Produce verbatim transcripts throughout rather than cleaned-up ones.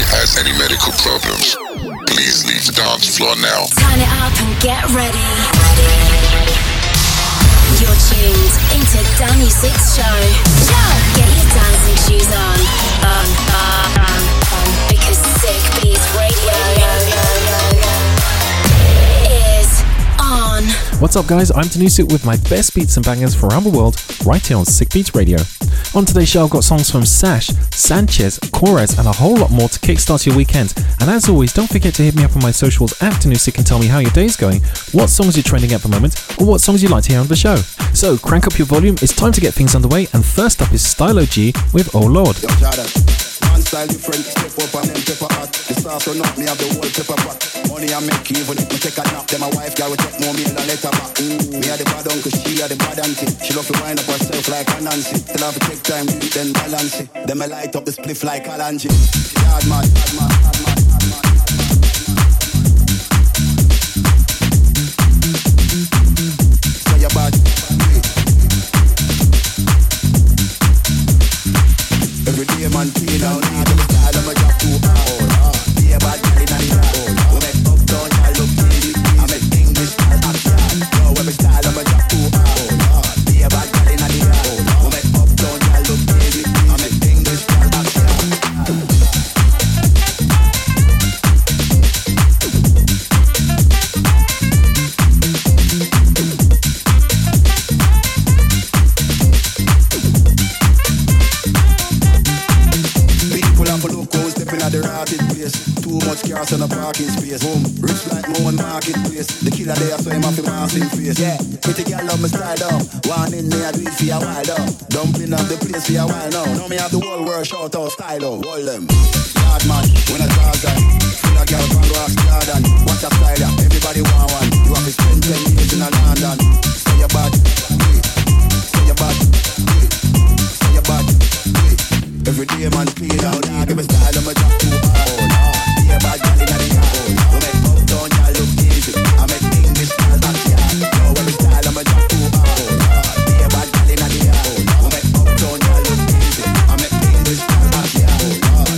has any medical problems, please leave the dance floor now. Turn it up and get ready. You're tuned into Dan Music's show. Get your dancing shoes on. On, on, on, on. Because Sick Beats Radio is on. What's up, guys? I'm Tanusik with my best beats and bangers from around the world, right here on Sick Beats Radio. On today's show, I've got songs from Sash, Sanchez, Corez, and a whole lot more to kickstart your weekend. And as always, don't forget to hit me up on my socials at Tanusik and tell me how your day's going, what songs you're trending at the moment, or what songs you'd like to hear on the show. So crank up your volume, it's time to get things underway, and first up is Stylo G with Oh Lord. Yo, style different, step up and them pepper hot. The sauce run up, me have the whole pepper pot. Money I make even if me take a nap. Then my wife girl will take more meal and let her back. Mm. Me a the bad uncle, she a the bad auntie. She love to wind up herself like a Nancy. Till I have to take time, then balance it. Then me light up the spliff like a Lange. Hard man, hard man, hard man, hard man. Say your bad. Every day man clean out, need the style of my job too hard. Be a bad girl in the yard. We make up down, I look easy. I make English style action. Yo, every style of my job too hard. Be a bad girl in the yard. We make up down, I look easy. I make English style action. The rotted place, too much cars on the parking space. Home, rich like more marketplace. The killer there, so him have a massive face. Yeah, pretty girl love my style though. One in there, I do it for a while though. Dumping up the place for a while now. Now me have the whole world shout out style though. All them, yard man, when I talk that, full of girl from Ross Garden. Watch a style yeah, everybody want one. You have to spend ten years in a London. Say your bad, say your bad, say your bad. Every day man clean out, give me style of my job too hard. Be a bad girl in the yard. We make up down, y'all look easy. I make English style backyard. Yo, every style of my job too hard. Be a bad girl in the yard. We make up down, y'all look easy. I make English style backyard.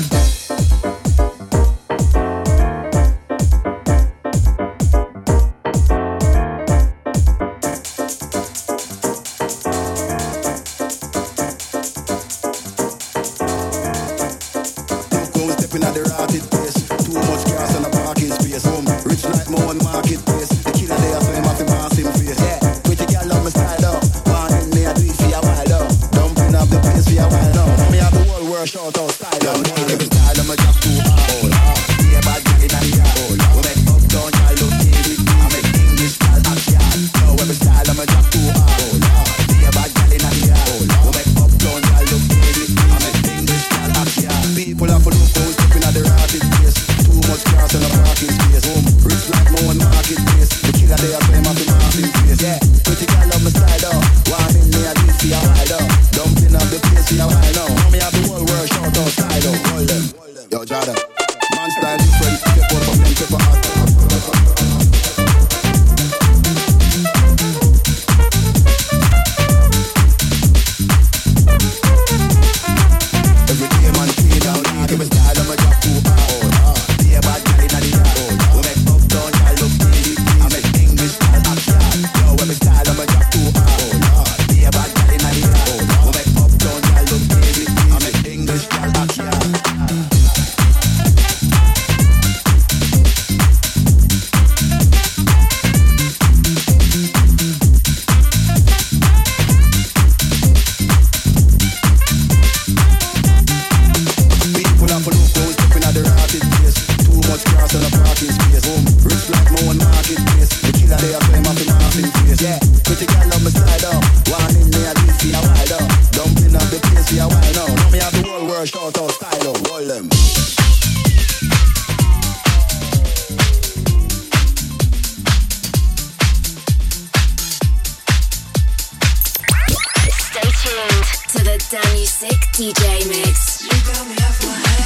D J Mix. You got me off my head.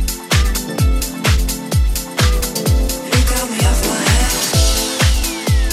You got me off my head.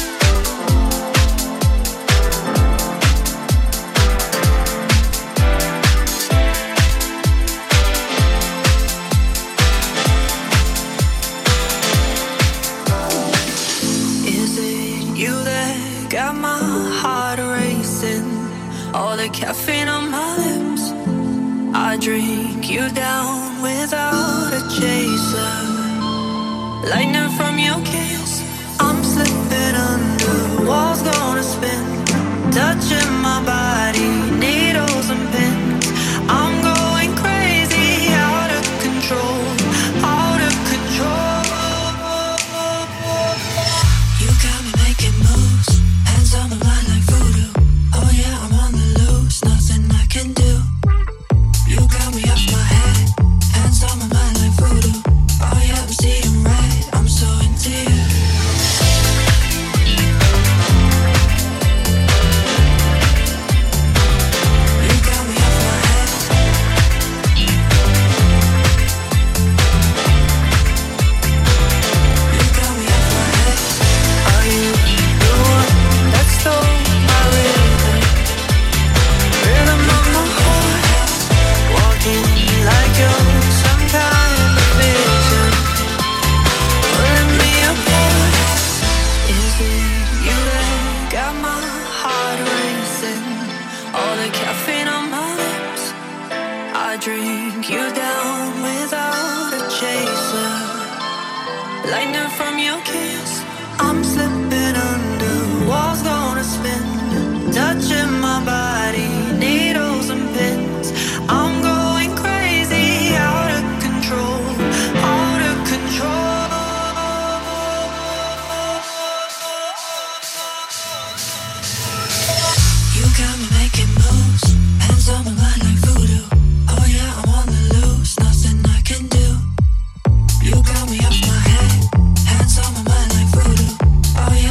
the caffeine on my lips. I drink you down without a chaser. Lightning from your kiss, I'm slipping under. Walls gonna spin, touching my body, needles and pins. I'm going crazy, out of control, out of control. You got me making moves, hands on my mind like voodoo. Oh yeah, I'm on the loose, nothing I can do. You got me off my head, hands on my mind like voodoo. Oh yeah, I'm seeing red, I'm so into you. Drink you down without a chaser. Lightning from your kiss, I'm slipping under. Walls gonna spin, touching my body, needles and pins. I'm going crazy, out of control, out of control. You got me making moves, hands on my mind like voodoo. Oh yeah, I'm on the loose, nothing I can do. You got me off my head, hands on my mind like voodoo. Oh yeah.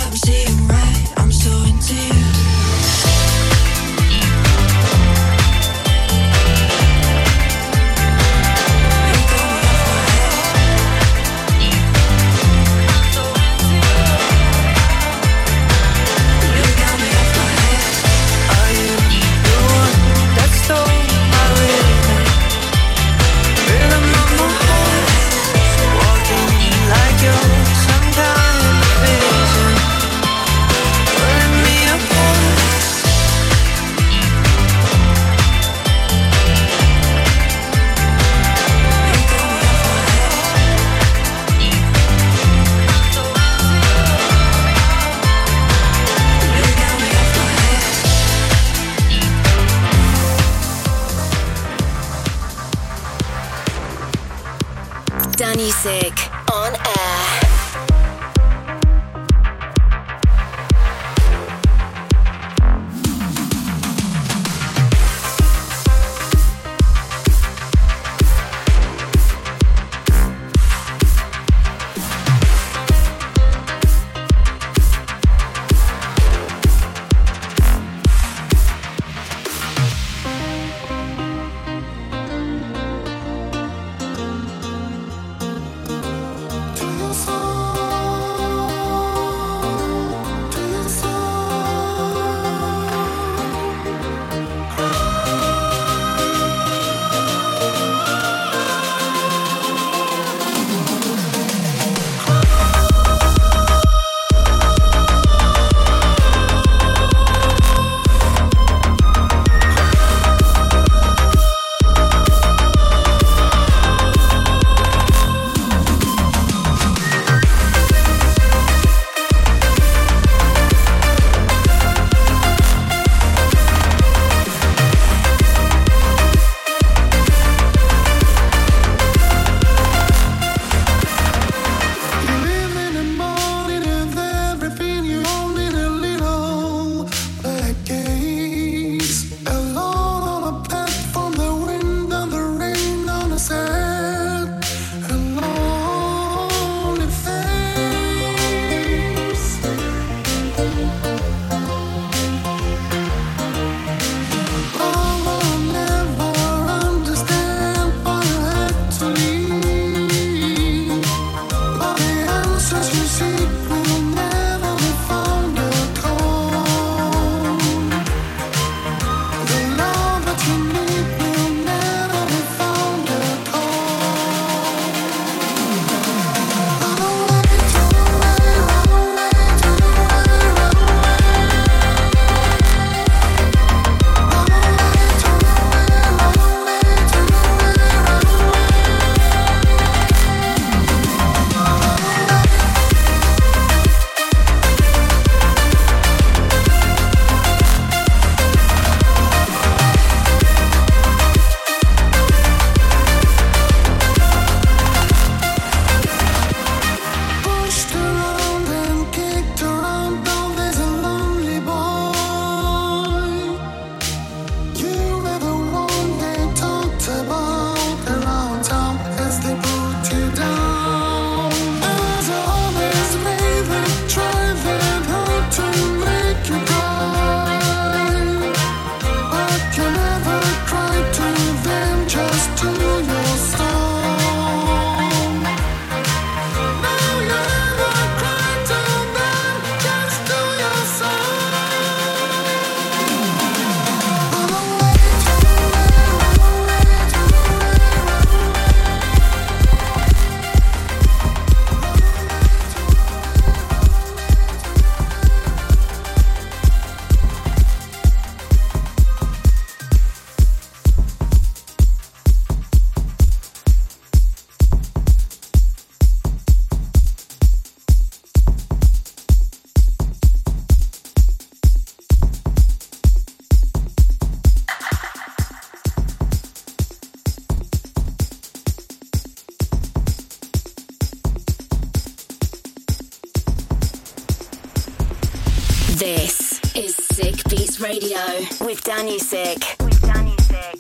This is Sick Beats Radio with Danny Sick. With Danny Sick.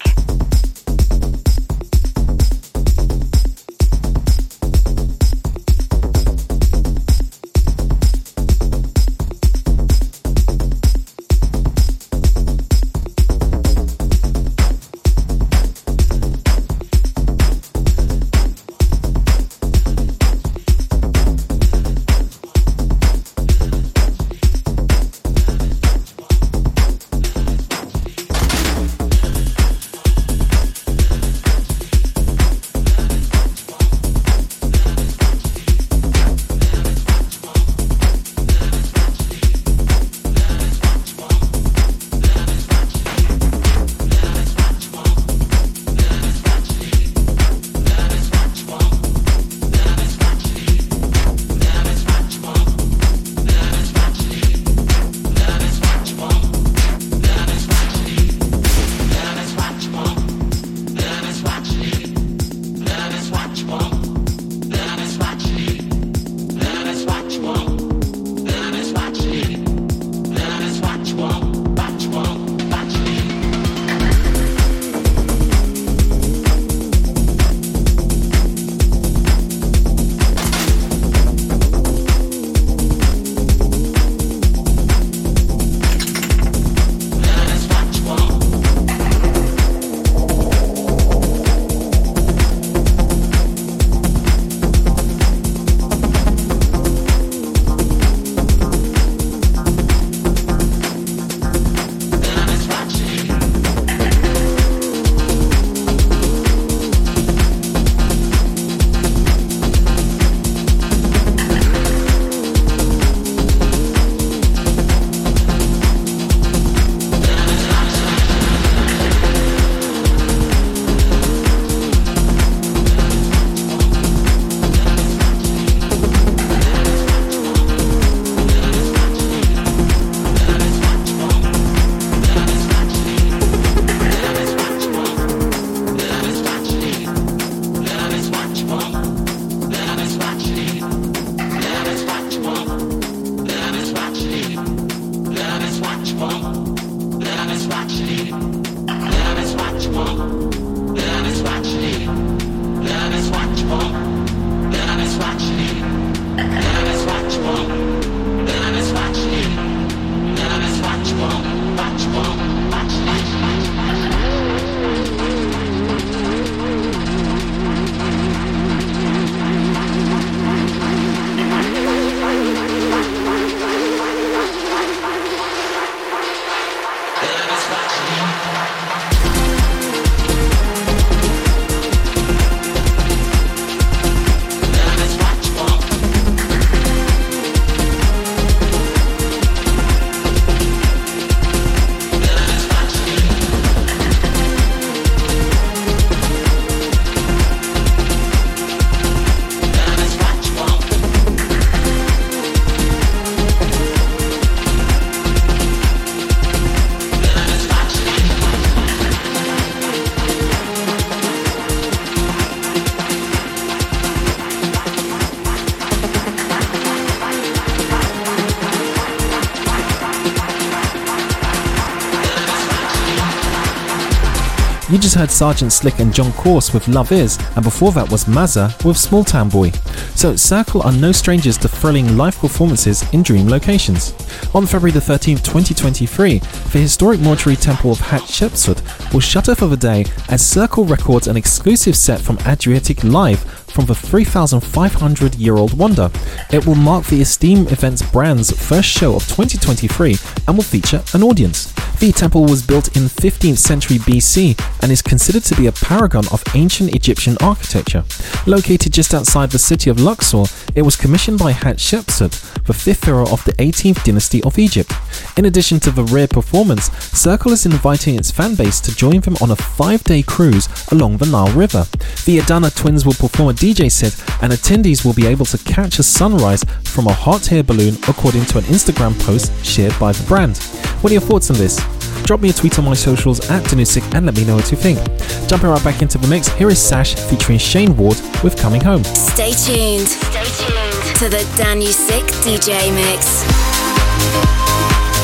You just heard Sergeant Slick and John Course with Love Is, and before that was Mazza with Small Town Boy. So Circle are no strangers to thrilling live performances in dream locations. On February the thirteenth, twenty twenty-three, the historic mortuary temple of Hatshepsut will shutter for the day as Circle records an exclusive set from Adriatic Live from the three thousand five hundred year old wonder. It will mark the Esteem Events brand's first show of twenty twenty-three and will feature an audience. The temple was built in fifteenth century B C and is considered to be a paragon of ancient Egyptian architecture. Located just outside the city of Luxor, it was commissioned by Hatshepsut, the fifth pharaoh of the eighteenth dynasty of Egypt. In addition to the rare performance, Circle is inviting its fan base to join them on a five-day cruise along the Nile River. The Adana twins will perform a D J set and attendees will be able to catch a sunrise from a hot air balloon, according to an Instagram post shared by the brand. What are your thoughts on this? Drop me a tweet on my socials at Danusik and let me know what you think. Jumping right back into the mix, here is Sash featuring Shane Ward with Coming Home. Stay tuned. Stay tuned to the Danusik D J mix.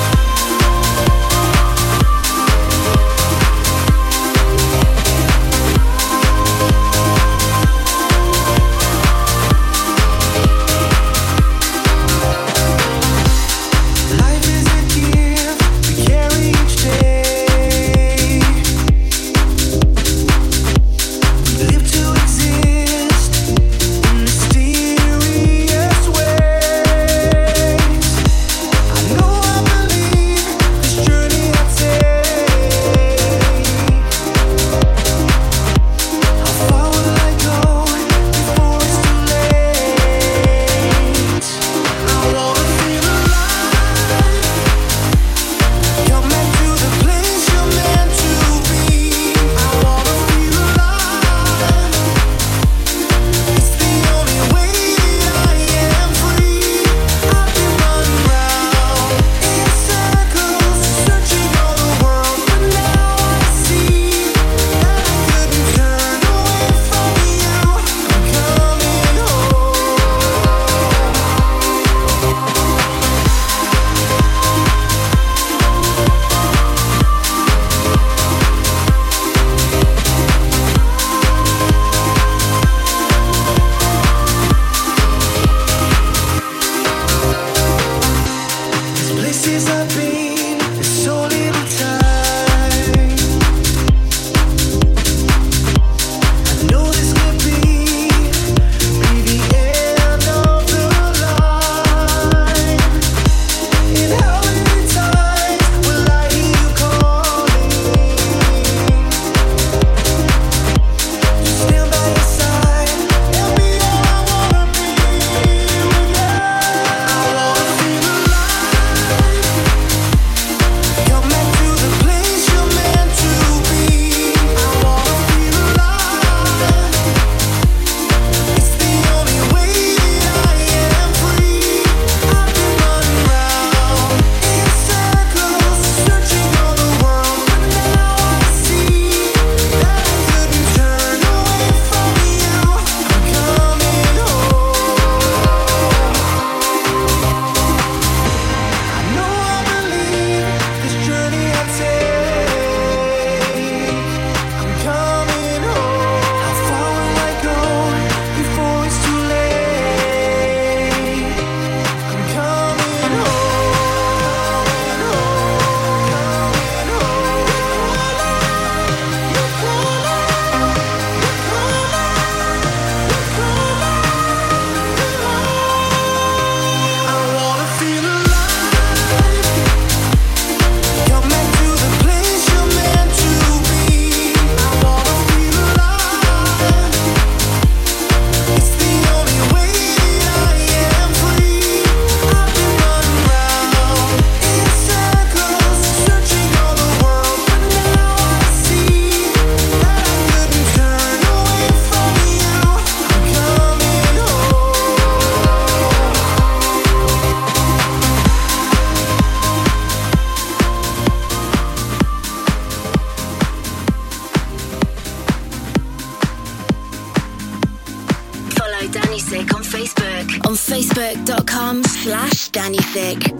dot com slash Danny Thick.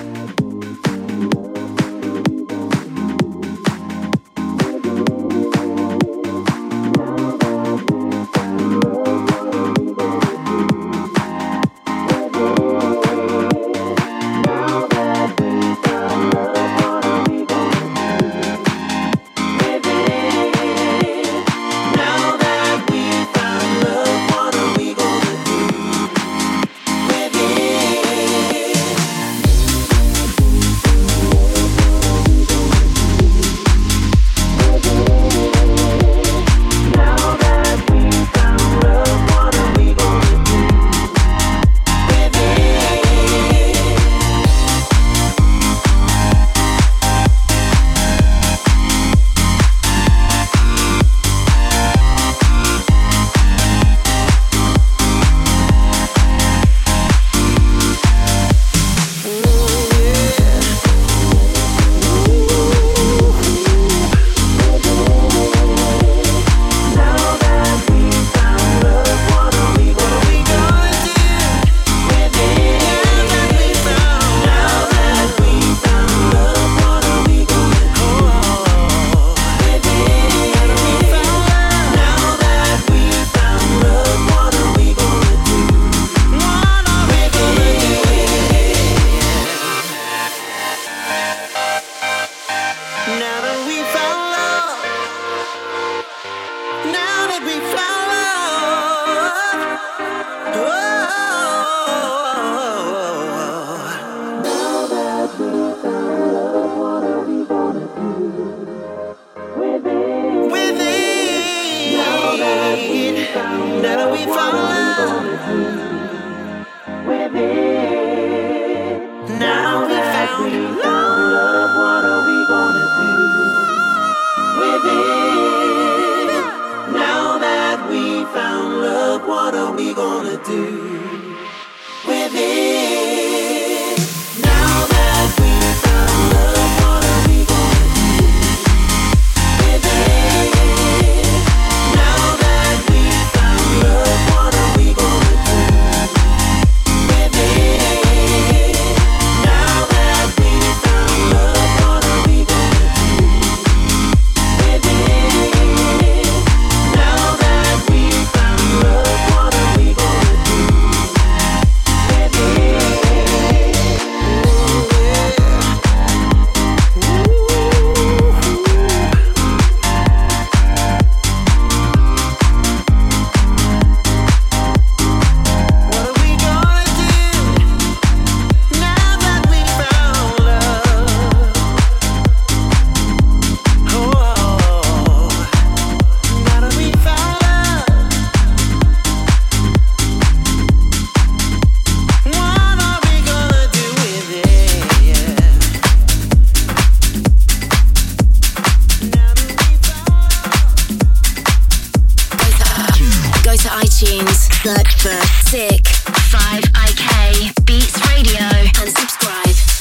Search for Sick five I K Beats Radio and subscribe.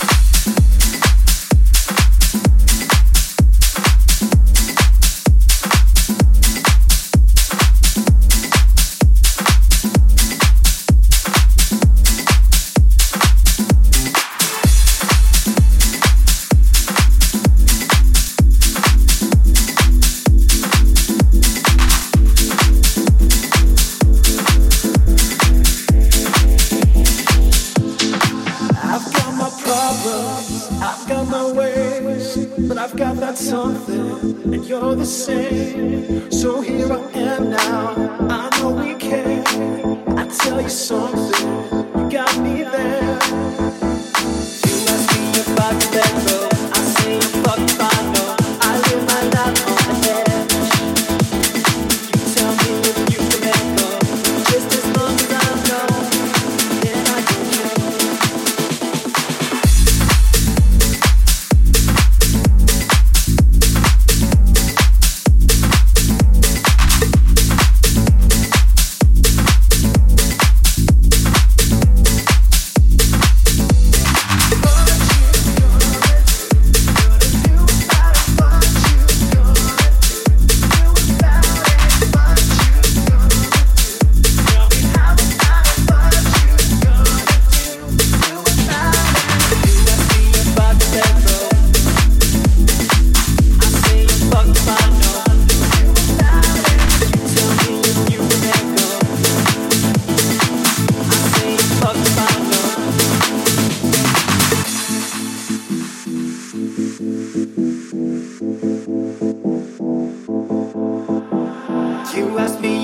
Something, and you're the same. So here I am now. I know we can. I tell you something, you got me there. You ask me if I can let go. I say fuck if I know. I live my life on the edge. You tell me if you can let go. Just as long as I know, then I can change.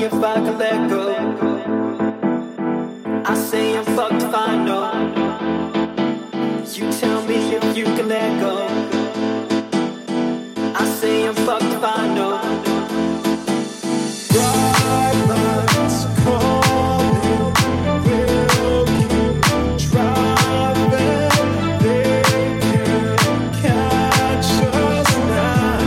if I can let go. I say I'm fucked if I know. You tell me if you can let go. I say I'm fucked if I know. Bright lights calling, will keep driving. They can't catch us now.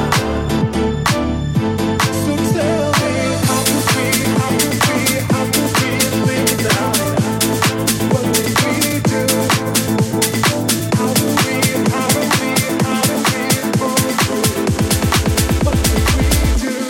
So tell me, how can we, how can we, how can we live without it? What did we do? How can we, how can we, how can we pull through? What did we do?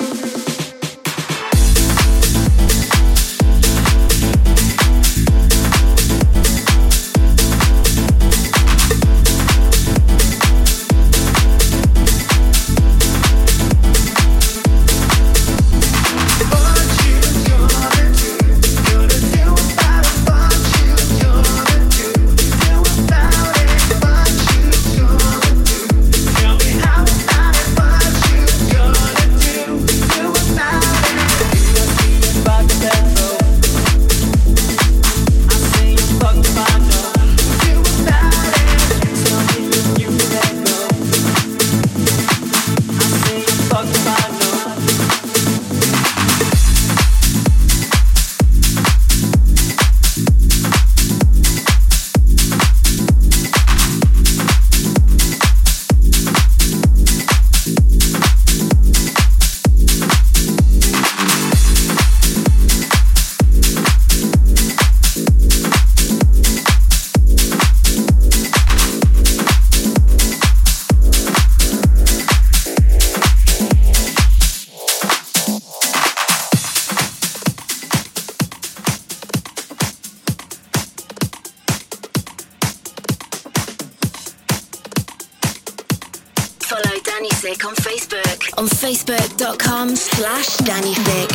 Follow Danny Sick on Facebook on facebook.com slash Danny Sick.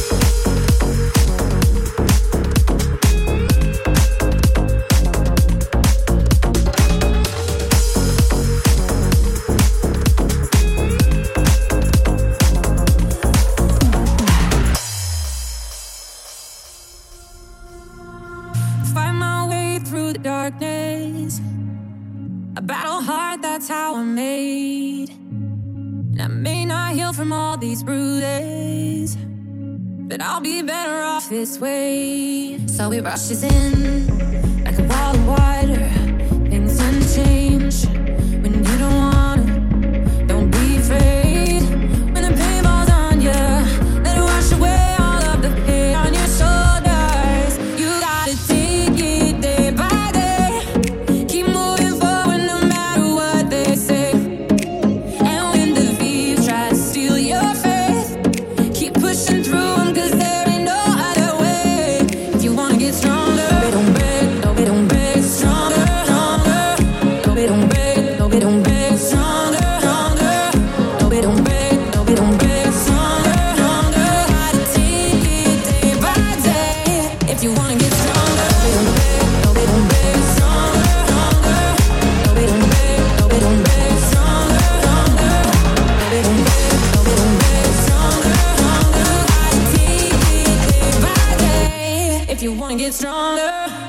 Find my way through the darkness. I battle hard, that's how I'm made. And I may not heal from all these bruises, but I'll be better off this way. So it rushes in like a wall of water. Things unchanged when you don't wanna. Don't be afraid when the pain falls on you. Let it wash away all of the pain on your shoulders. You gotta take it day by day. Keep moving forward no matter what they say. And when the thieves try to steal your faith, keep pushing through them, cause there ain't no other way. If you wanna get stronger, no, they don't beg, no, they don't beg. Stronger, stronger, no, they don't beg, no, they don't beg. Stronger, stronger, no, they don't beg, no, they don't beg. Stronger, stronger, gotta take it day by day. If you wanna get stronger, they don't beg, no, they don't beg. Stronger, stronger, no, they don't beg, no, they don't beg. Stronger, stronger, no, they don't beg, no, they don't beg. Stronger, stronger, gotta take it day by day. If you wanna get stronger.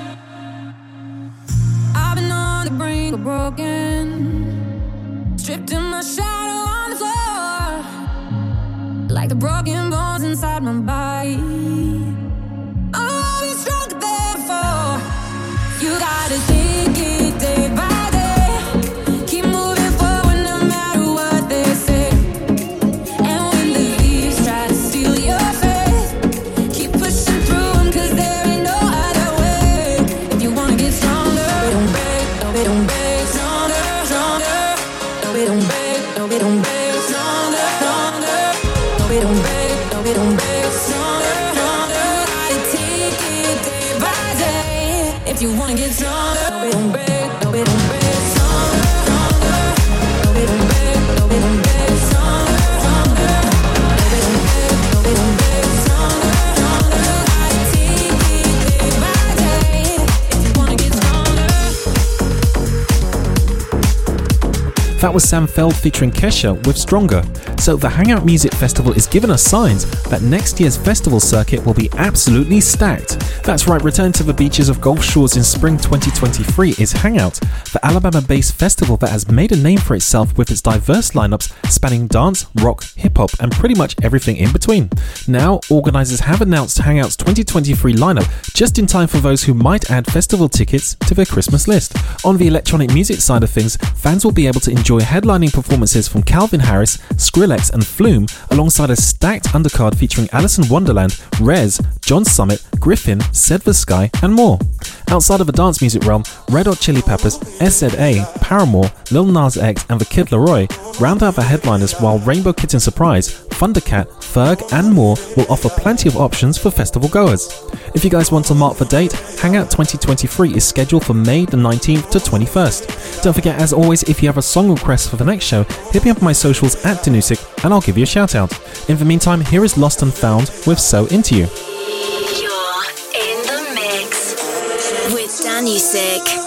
I've been on the brink of broken, stripped in my shadow on the floor, like the broken bones inside my body. I'll be stronger therefore. You gotta take it day by day. Keep moving forward no matter what they say. And when the leaves try to steal your faith, keep pushing through them, cause there ain't no other way. If you wanna get stronger, they don't beg, no, they don't beg. Stronger, stronger, no, they don't beg, no, they don't beg. Stronger, stronger, no, they don't beg, no, they don't beg. Stronger, stronger, gotta take it day by day. If you wanna get stronger, no, they don't beg, no, they don't beg. Stronger, stronger, no, they don't beg, no, they don't beg. Stronger, stronger, no, they don't beg, no, they don't beg. Stronger, stronger, gotta take it day by day. If you wanna get stronger. That was Sam Feld featuring Kesha with Stronger. So the Hangout Music Festival is giving us signs that next year's festival circuit will be absolutely stacked. That's right, return to the beaches of Gulf Shores in spring twenty twenty-three is Hangout, the Alabama-based festival that has made a name for itself with its diverse lineups spanning dance, rock, hip-hop and pretty much everything in between. Now, organisers have announced Hangout's twenty twenty-three lineup just in time for those who might add festival tickets to their Christmas list. On the electronic music side of things, fans will be able to enjoy headlining performances from Calvin Harris, Skrillex and Flume, alongside a stacked undercard featuring Alice in Wonderland, Rez, John Summit, Griffin, Said the Sky and more. Outside of the dance music realm, Red Hot Chili Peppers, S Z A, Paramore, Lil Nas X and The Kid Laroi round out the headliners, while Rainbow Kitten Surprise, Thundercat, Ferg and more will offer plenty of options for festival goers. If you guys want to mark the date, Hangout twenty twenty-three is scheduled for May the nineteenth to twenty-first. Don't forget, as always, if you have a song request for the next show, hit me up on my socials at Danusik and I'll give you a shout out. In the meantime, here is Lost and Found with So Into You. You're in the mix with Danusik.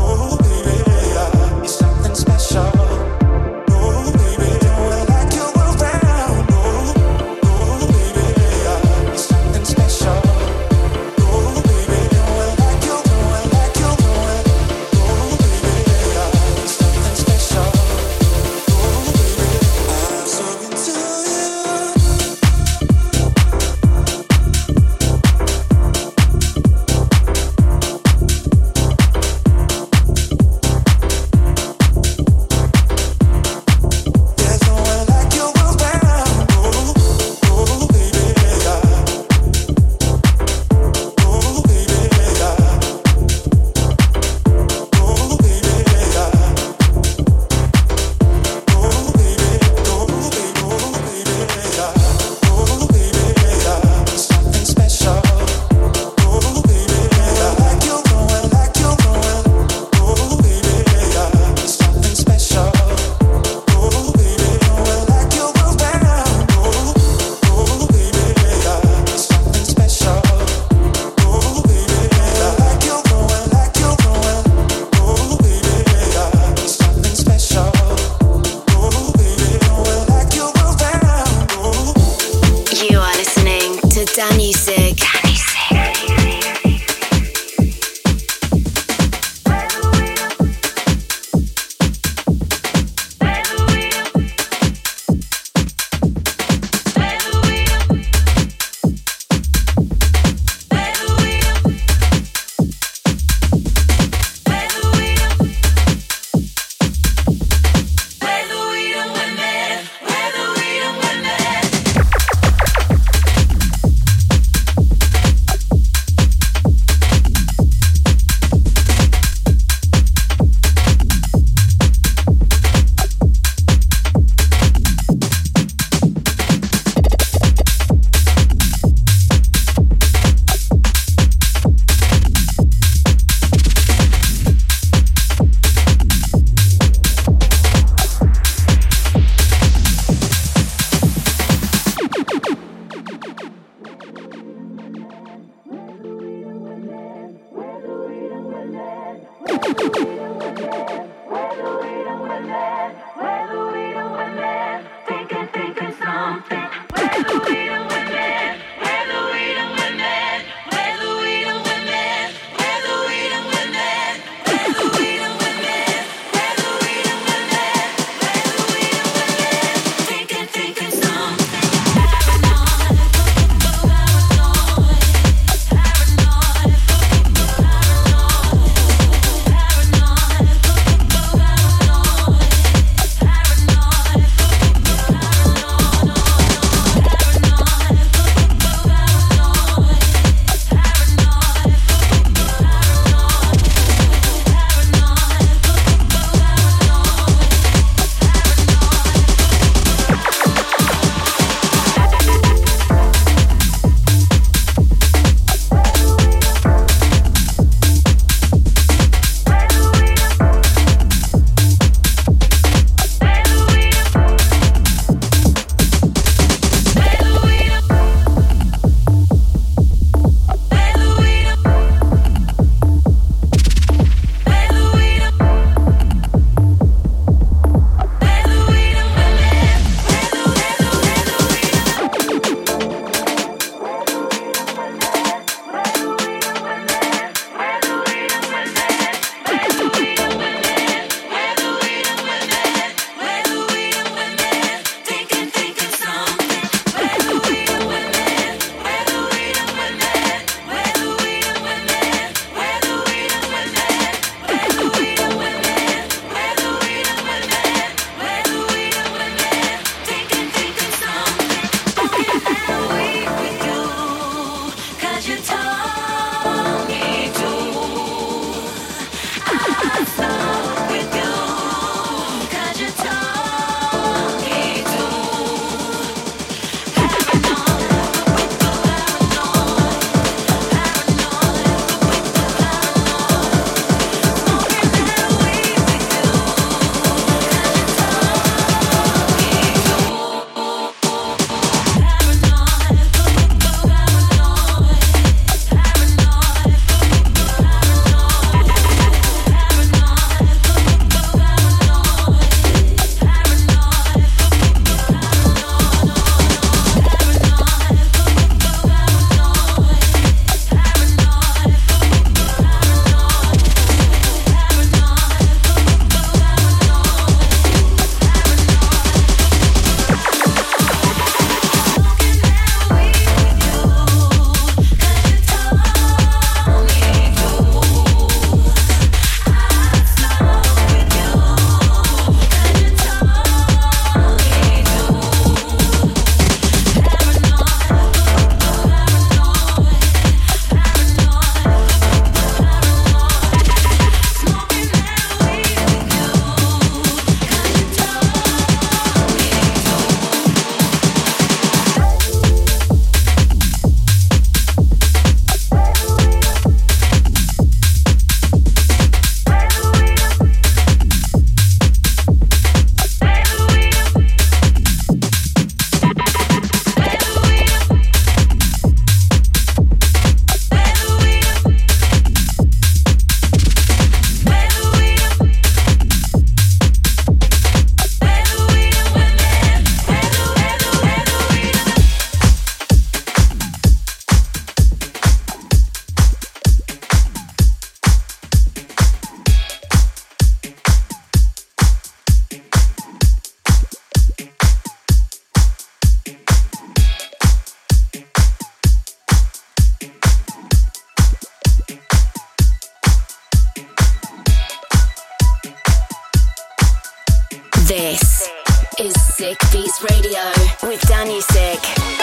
Like you Danny Sig. Danny Sig. We'll be right back. Sick Beats Radio with Danny Sick.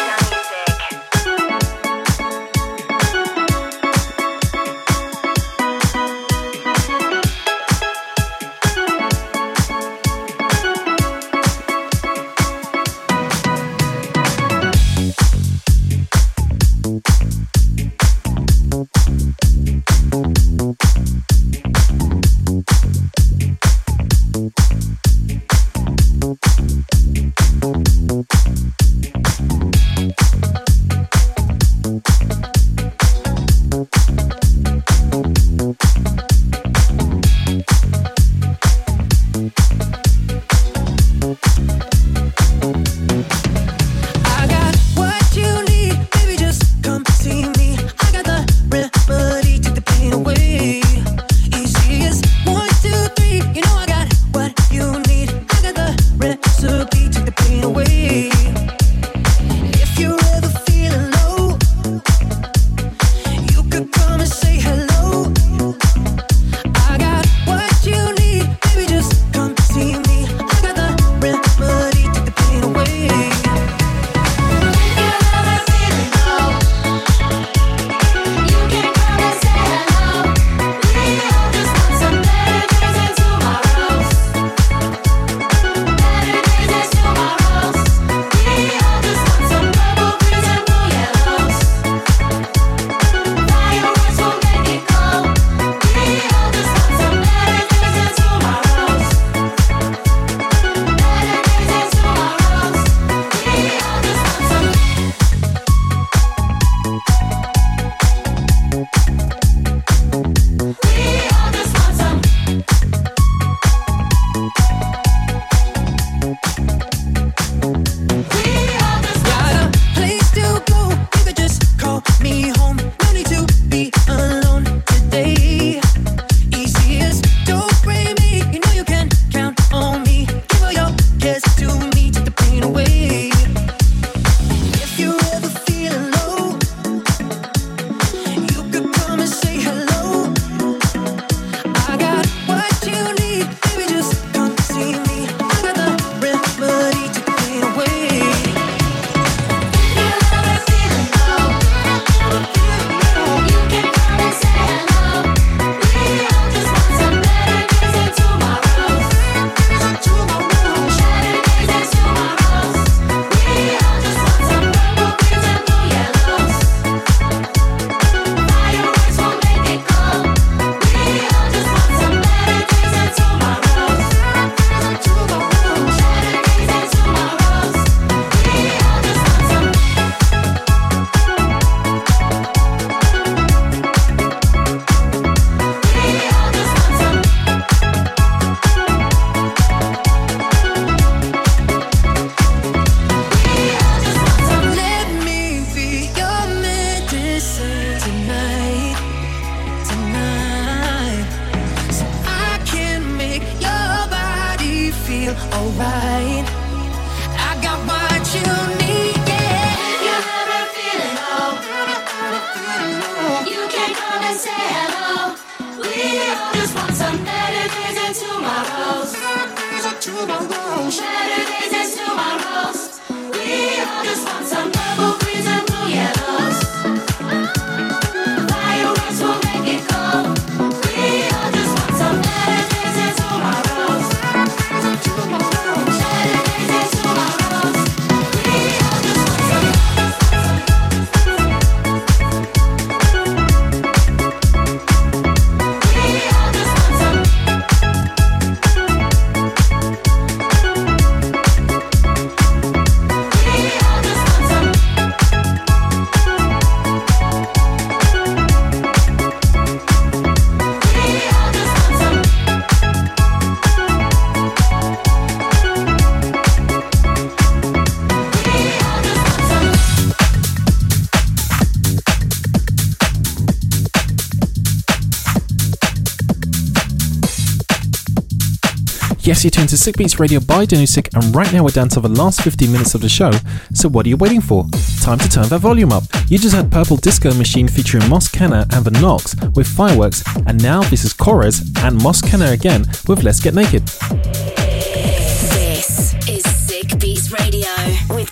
Yes, you're tuned to Sick Beats Radio by Danny Sick, and right now we're down to the last fifteen minutes of the show, so what are you waiting for? Time to turn that volume up. You just heard Purple Disco Machine featuring Mos Kenner and The Knox with Fireworks, and now this is Corez and Mos Kenner again with Let's Get Naked. This is Sick Beats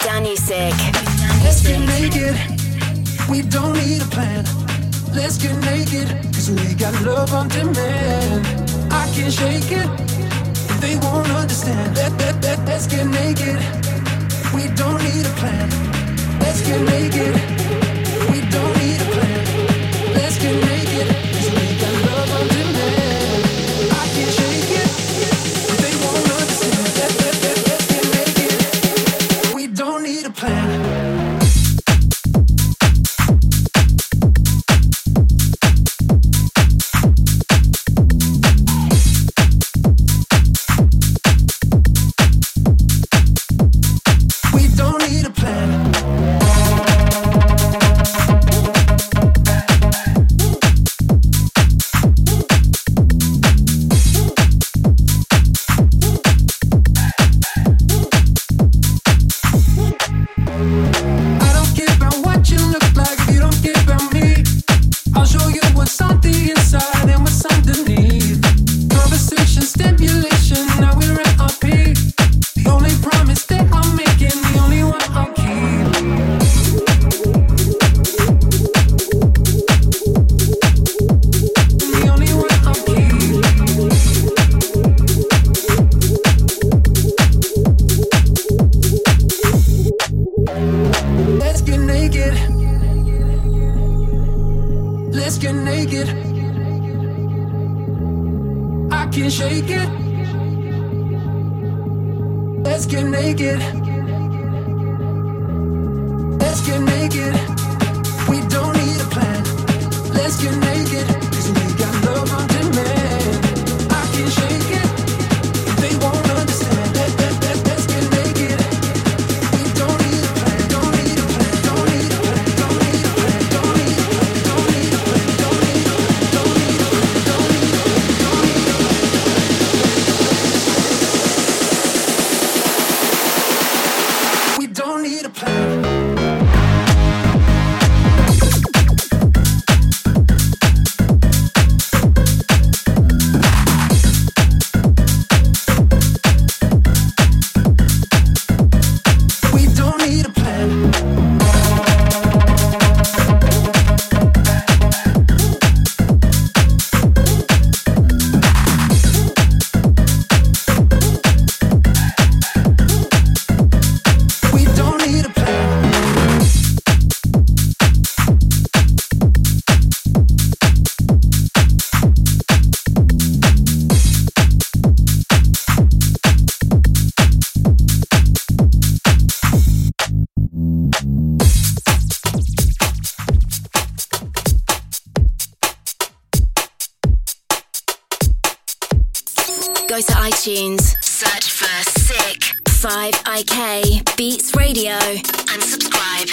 Danusik. Let's get naked. We don't need a plan. Let's get naked, cause we got love on demand. I can't shake it, they won't understand. Let, let, let, let's get naked. We don't need a plan. Let's get naked. We don't need a plan. Let's get naked, cause we got love on demand. I can't shake it, they won't understand. Let, let, let, let's get naked. We don't need a plan. Go to iTunes, search for Sick five I K Beats Radio and subscribe.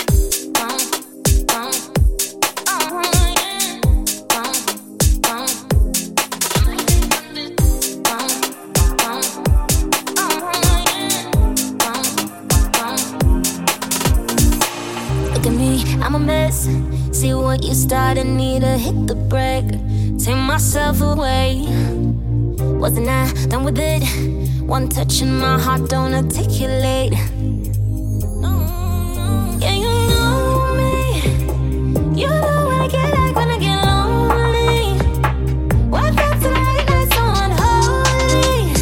Look at me, I'm a mess. See what you started, need to hit the brake. Take myself away. Wasn't I done with it? One touch and my heart don't articulate. Yeah, you know me. You know what I get like when I get lonely. What felt to late night so unholy.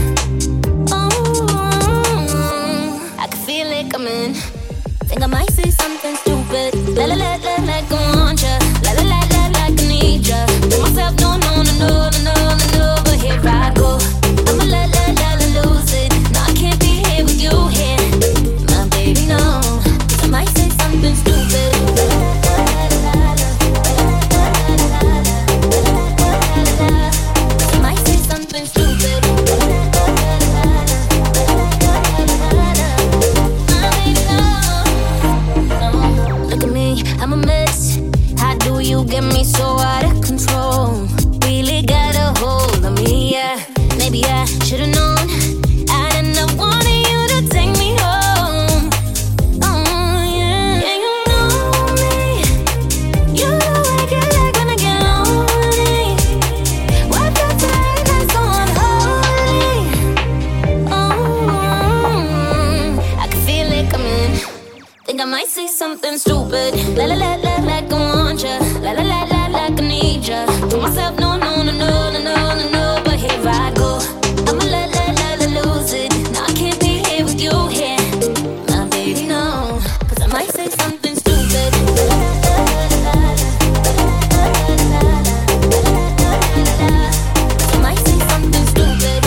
Oh, I can feel it coming. Think I might say something stupid. La la la la like I want ya. La la la la like I need ya. Tell myself no no no no no no no. But here I go. I'ma la la la la lose it. No, I can't be here with you here. something stupid. La la la la, like I want ya. La la la la, like I need ya. To myself, no, no, no, no, no, no, no, no. But here I go. I'ma la la la la lose it. Now I can't be here with you here, my baby, no. Cause I might say something stupid. La la la la la. I might say something stupid.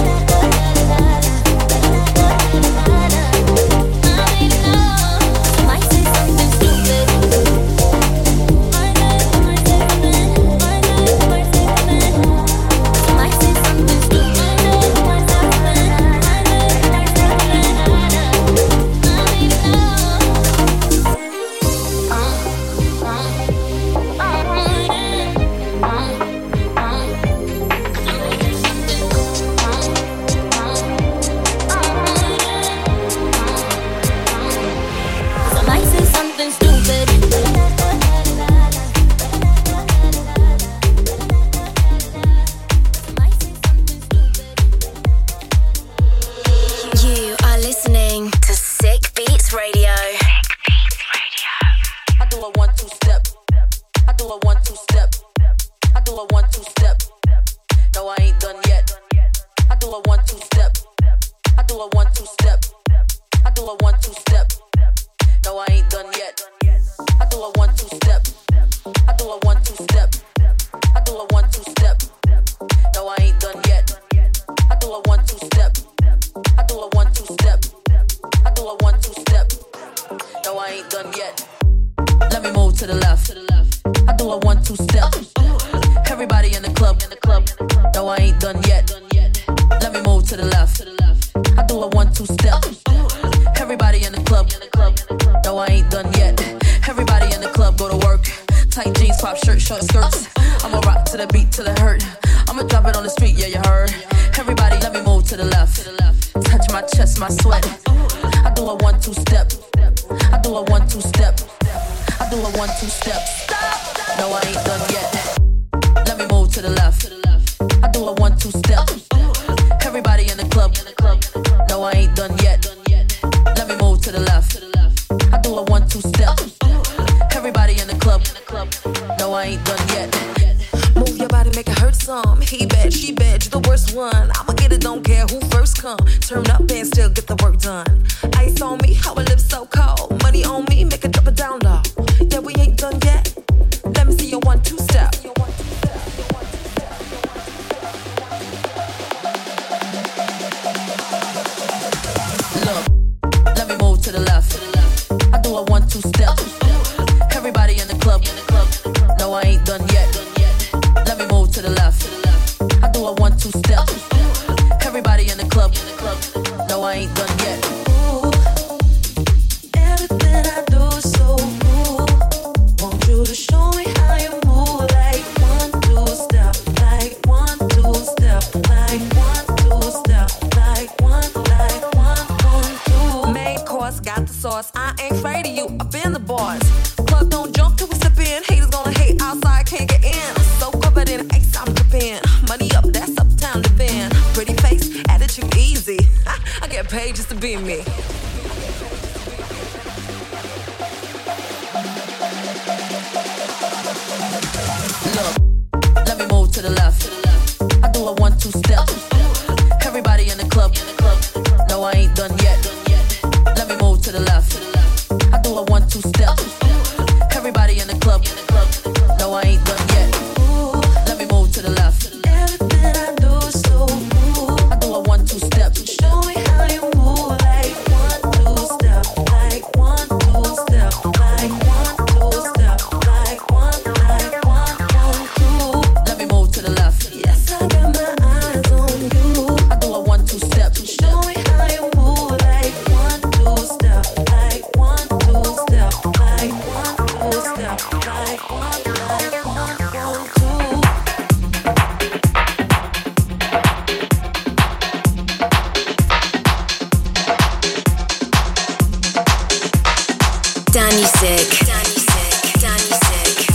Danusik. Danusik. Danusik.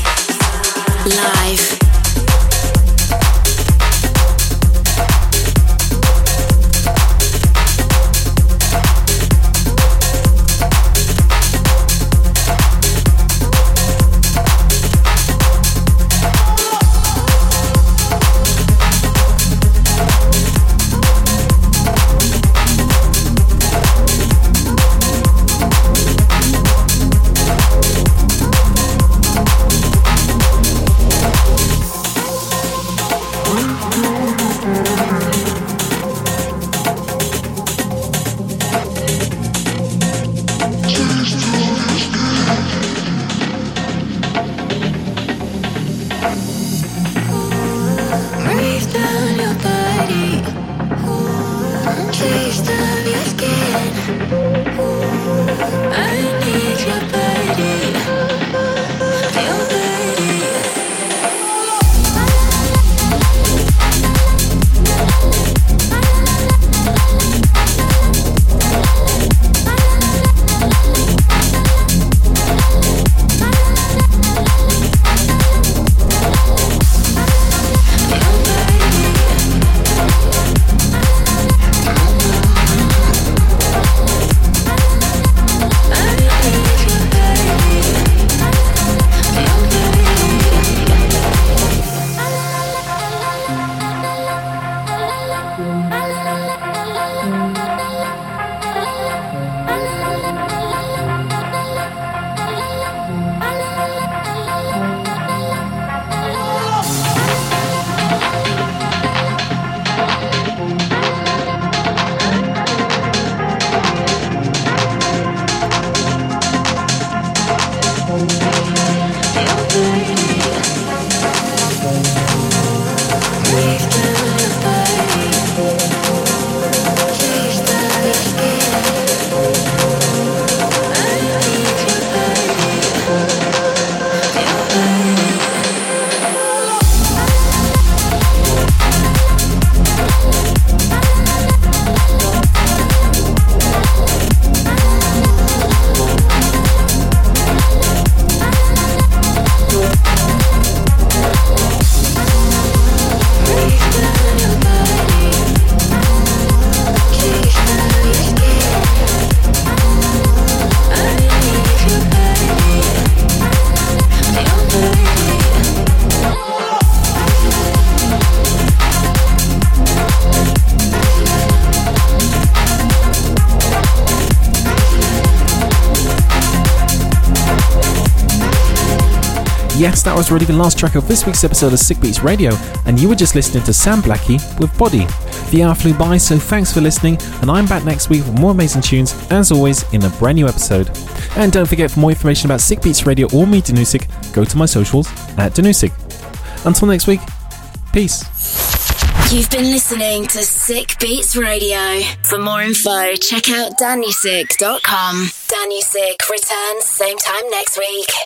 Live. Yes, that was really the last track of this week's episode of Sick Beats Radio, and you were just listening to Sam Blackie with Body. The hour flew by, so thanks for listening, and I'm back next week with more amazing tunes, as always, in a brand new episode. And don't forget, for more information about Sick Beats Radio or me, Danusik, go to my socials at Danusik. Until next week, peace. You've been listening to Sick Beats Radio. For more info, check out danusik dot com. Danusik returns same time next week.